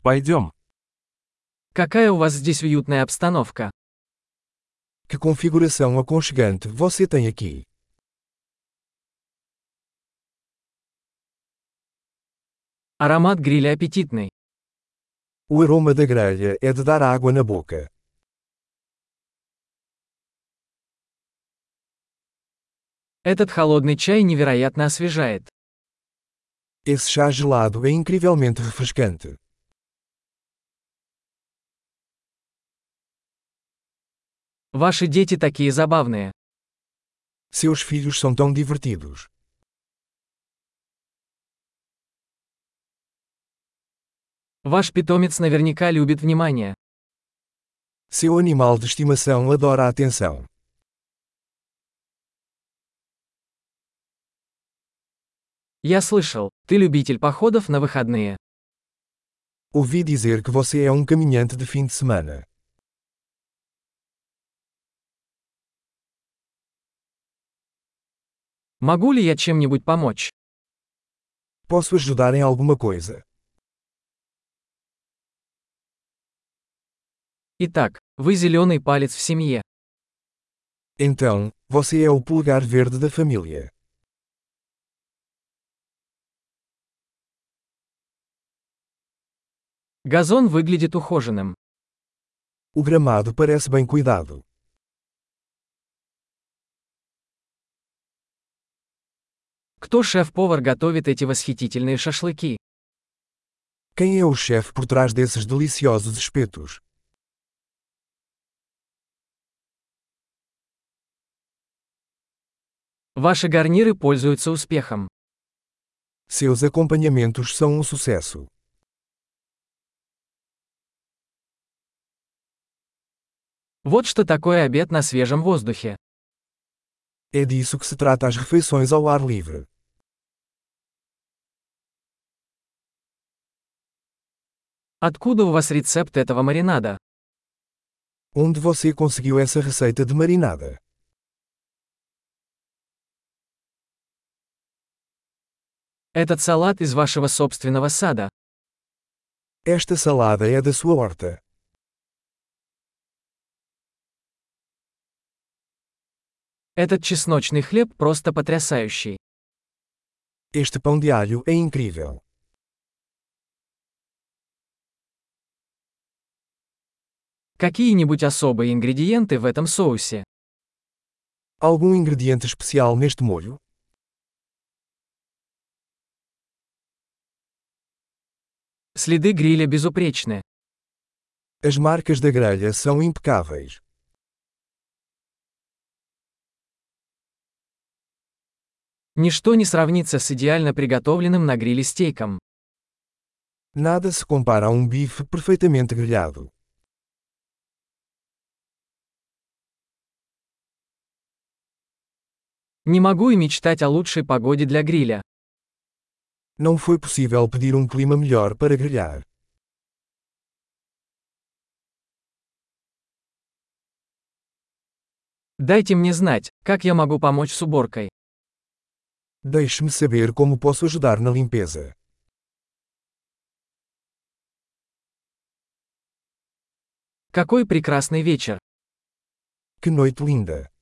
Пойдем. Какая у вас здесь уютная обстановка. Que configuração aconchegante você tem aqui. Аромат гриля аппетитный. O aroma da grelha é de dar água na boca. Этот холодный чай невероятно освежает. Esse chá gelado é incrivelmente refrescante. Ваши дети такие забавные. Seus filhos são tão divertidos. Ваш питомец наверняка любит внимание. Seu animal de estimação adora a atenção. Я слышал, ты любитель походов на выходные. Ouvi dizer que você é um caminhante de fim de semana. Могу ли я чем-нибудь помочь? Posso ajudar em alguma coisa? Итак, вы зеленый палец в семье. Então, você é o polegar verde da família. Газон выглядит ухоженным. O gramado parece bem cuidado. Кто шеф-повар готовит эти восхитительные шашлыки? Quem é o chefe por trás desses deliciosos espetos? Ваши гарниры пользуются успехом. Seus acompanhamentos são um sucesso. Вот что такое обед на свежем воздухе. É disso que se trata as refeições ao ar livre. Откуда у вас рецепт этого маринада? Onde você conseguiu essa receita de marinada? Этот салат из вашего собственного сада. Esta salada é da sua horta. Этот чесночный хлеб просто потрясающий. Este pão de alho é incrível. Какие-нибудь особые ингредиенты в этом соусе? Algum ingrediente especial neste molho? Следы гриля безупречны. As marcas da grelha são impecáveis. Ничто не сравнится с идеально приготовленным на гриле стейком. Nada se compara a um bife perfeitamente grelhado. Не могу и мечтать о лучшей погоде для гриля. Não foi possível pedir um clima melhor para grelhar. Дайте мне знать, как я могу помочь с уборкой. Deixe-me saber como posso ajudar na limpeza. Какой прекрасный вечер! Que noite linda!